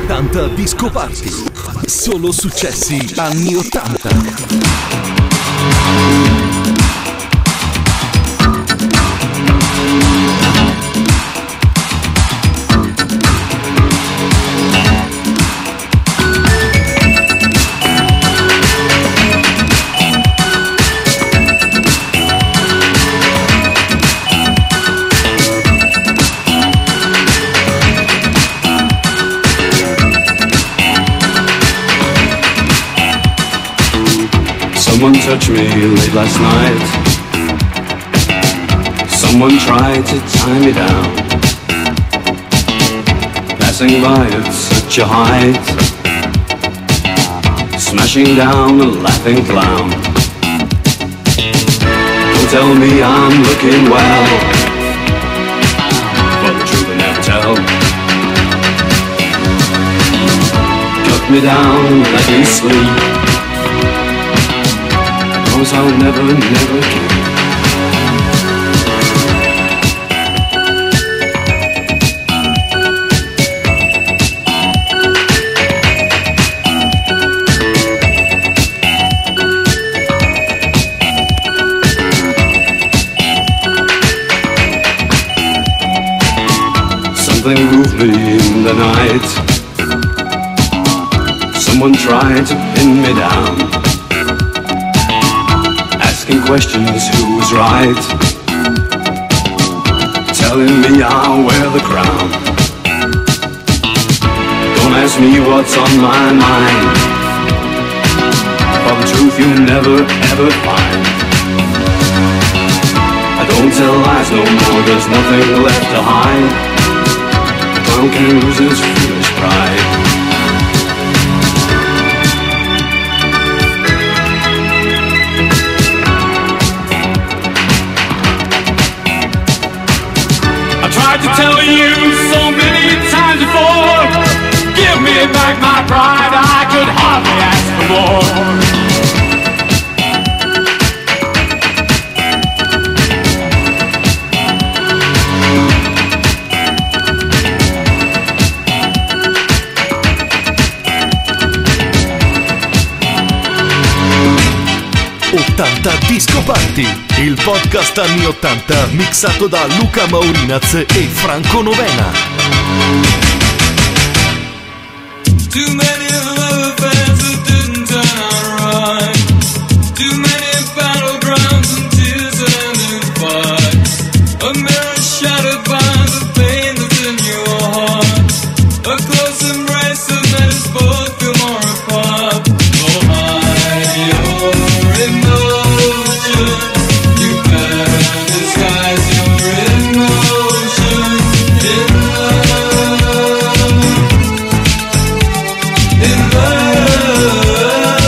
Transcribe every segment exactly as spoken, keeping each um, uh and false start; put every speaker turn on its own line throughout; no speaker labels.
ottanta Disco Party. Solo successi anni ottanta.
Someone touched me late last night. Someone tried to tie me down. Passing by at such a height, smashing down a laughing clown. Don't tell me I'm looking well, but the truth I never tell. Cut me down like in sleep. I'll never, never keep. Something moved me in the night. Someone tried to pin me down, questions who was right, telling me I'll wear the crown. Don't ask me what's on my mind, for the truth you'll never ever find. I don't tell lies no more, there's nothing left to hide. The clown can lose his foolish pride.
Tried to tell you so many times before, give me back my pride, I could hardly ask for more.
ottanta Disco Party, il podcast anni ottanta mixato da Luca Maurinaz e Franco Novena.
Too many love affairs that didn't turn out right. Too many battlegrounds and tears and in fight. A mirror shattered by the pain that's in your heart. A close embrace that made us both feel more apart. Oh, hide your emotion. You better disguise your emotion in love. In love.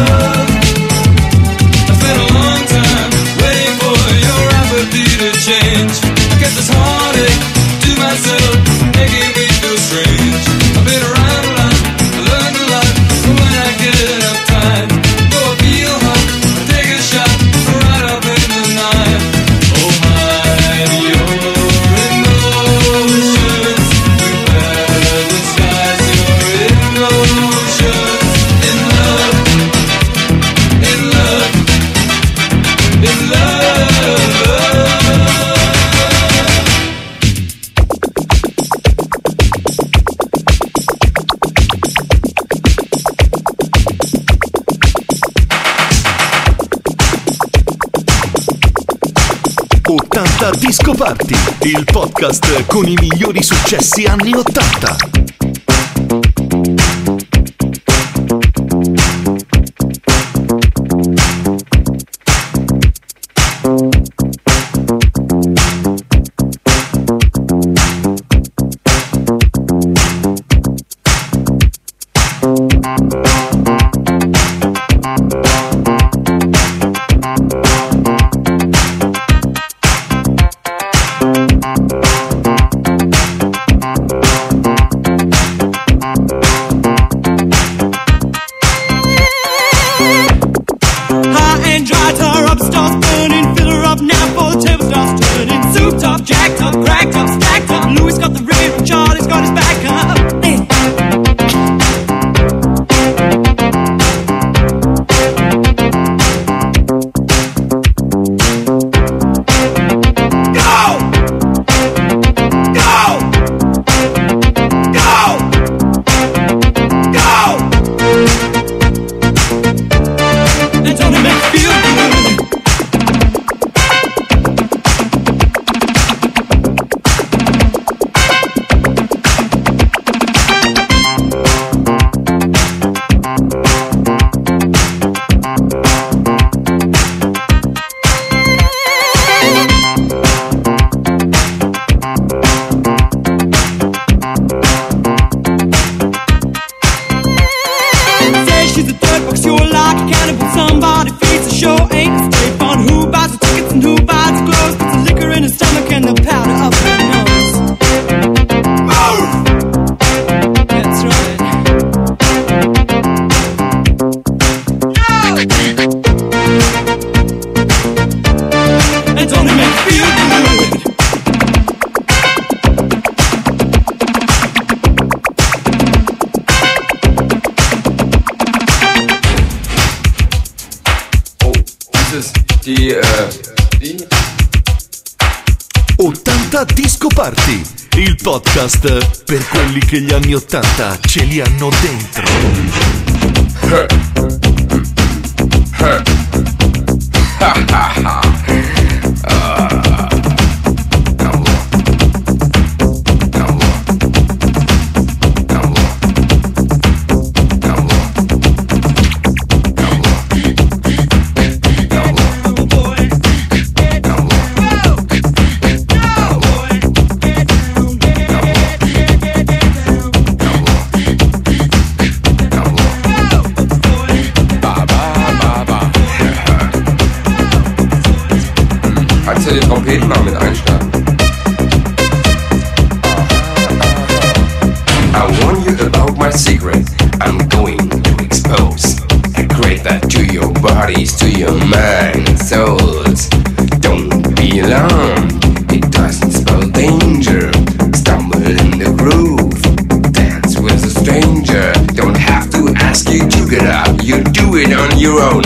I spent a long time waiting for your apathy to change. I kept this heartache to myself, making me feel strange. I've been around a lot, I learned a lot, but when I get enough time, though I feel hot, I take a shot right up in the night. Oh, hide your emotions. You better disguise your emotions in love, in love, in love.
ottanta Disco Party, il podcast con i migliori successi anni ottanta.
like a cannibal. Somebody feeds the show, ain't it straight fun? Who buys the tickets and who buys the clothes? Puts the liquor in his stomach and the powder up his nose. Move! That's right. No! It's only make me feel good.
Die, äh, die
ottanta Disco Party, il podcast per quelli che gli anni ottanta ce li hanno dentro.
Ha ha ha. Den Trompeten mal mit einstarten. I warn you about my secret. I'm going to expose. I create that to your bodies, to your mind and souls. Don't be alarmed. It doesn't spell danger. Stumble in the groove. Dance with a stranger. Don't have to ask you to get up. You do it on your own.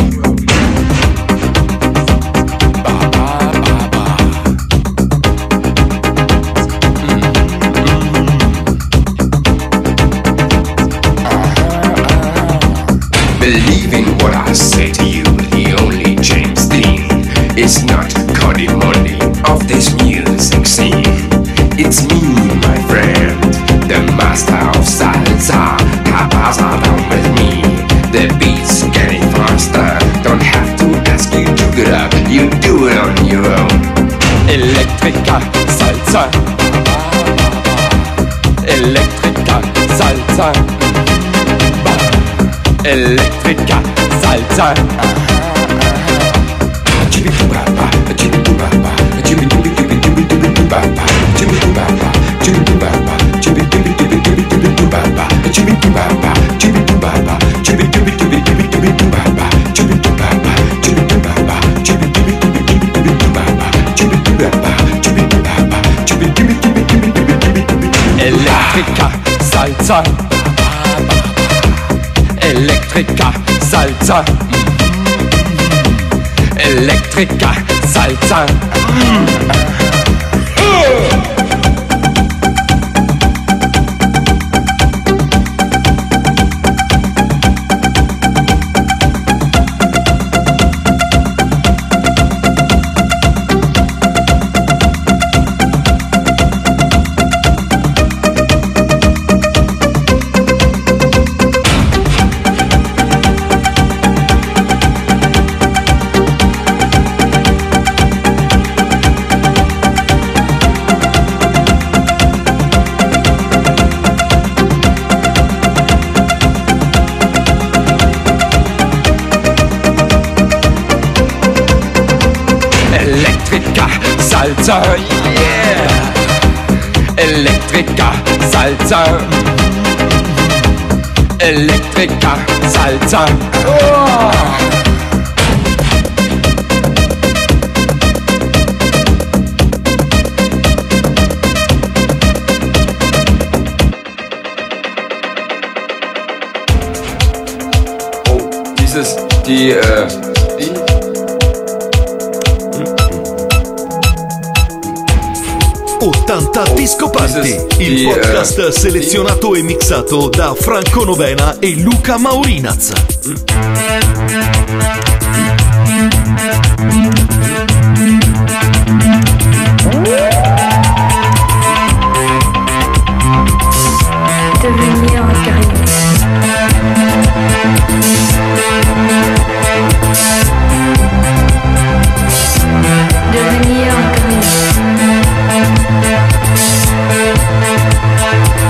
Believe in what I say to you, the only James Dean is not Cody Monday of this music scene. It's me, my friend, the master of salsa. Pasa down with me, the beat's getting faster. Don't have to ask you to get up, you do it on your own. Electrica salsa, Electrica salsa. Electrica salsa. Electrica salsa. Electrica salsa. Electrica salsa. Electrica salsa, yeah. Electrica salsa. Electrica salsa. Oh. Dieses, die, äh, die
ottanta Disco Party, il podcast selezionato e mixato da Franco Novena e Luca Maurinaz.
Devenir un guerrier. Devenir un guerrier.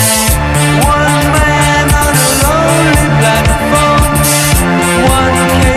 One man on a lonely platform, one case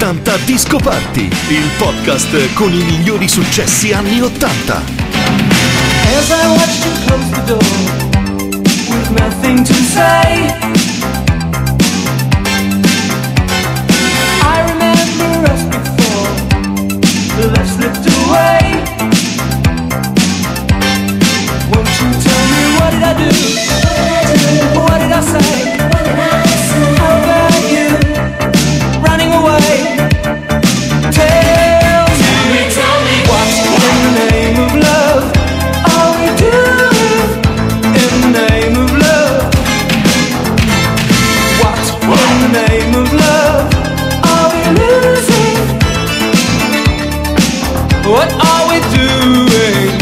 ottanta Disco Party, il podcast con i migliori successi anni ottanta.
As I watched you close the door with nothing to say, I remember us before the love slipped away. Won't you tell me what did I do? What did I say? How about you running away? Tell me, tell me what in the name of love are we doing? In the name of love, what in the name of love are we losing? What are we doing?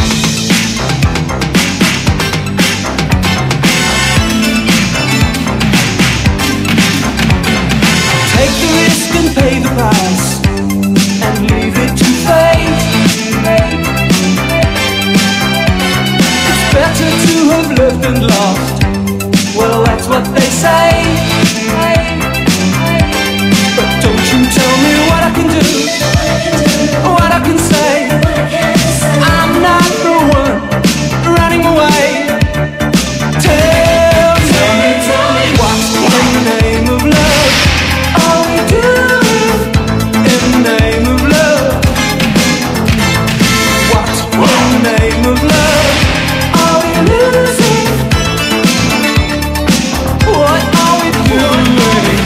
Take the risk and pay the price and leave it to fate. It's better to have lived and lost. Well, that's what they say. But don't you tell me what I can do, what I can say. I'm not the one running away. Tell me what in the name of love are we doing? In the name of love, what in the name of love are we losing? What are we doing?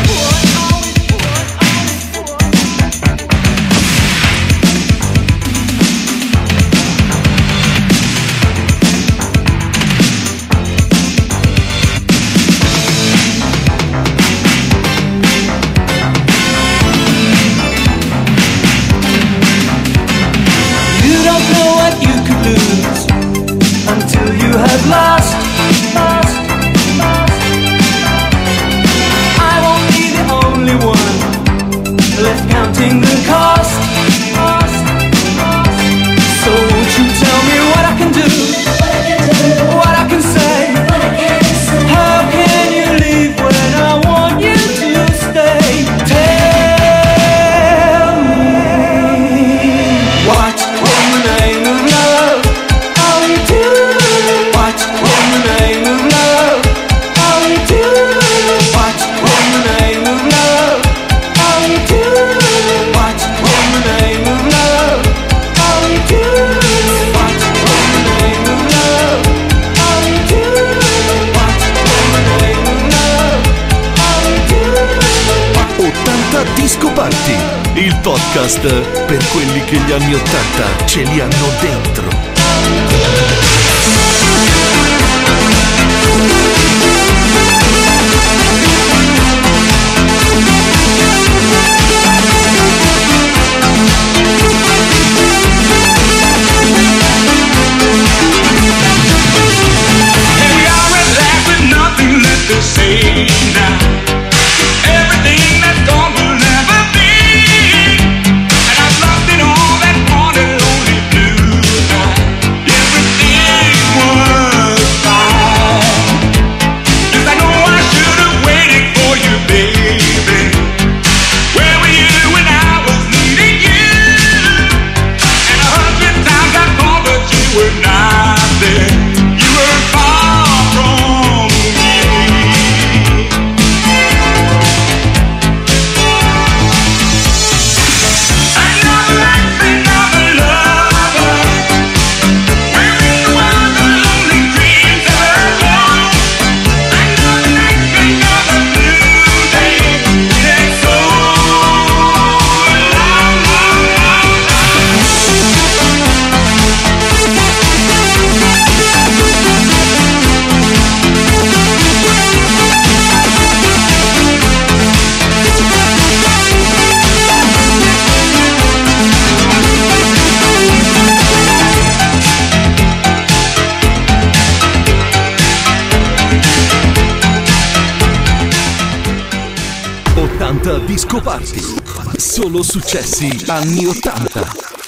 You don't know what you could lose until you have lost. Lost, lost. I won't be the only one left counting the cost. Cost, cost. So won't you tell me what I can do, what I can say? How can you leave when I want you to stay? Tell me what in the name of love are we doing? What in the name of love are we doing? What in the name of love are we doing? What in the name of love are we doing? What in the name of love are we doing? What in the name of love are we doing?
ottanta Disco Party, il podcast per quelli che gli anni ottanta ce li hanno dentro.
And we are at last with nothing left to say now. Everything that's gone will never be. And I've lost it all that one and only blue night. Everything was fine. Yes, I know I should have waited for you, baby. Where were you when I was needing you? And a hundred times I called, but you were not there. You were far from me. Another life, another lover. Where in the world the lonely dreams ever go? Another night, another blue day. It's so long, long, long,
ottanta Disco Party, solo successi anni ottanta.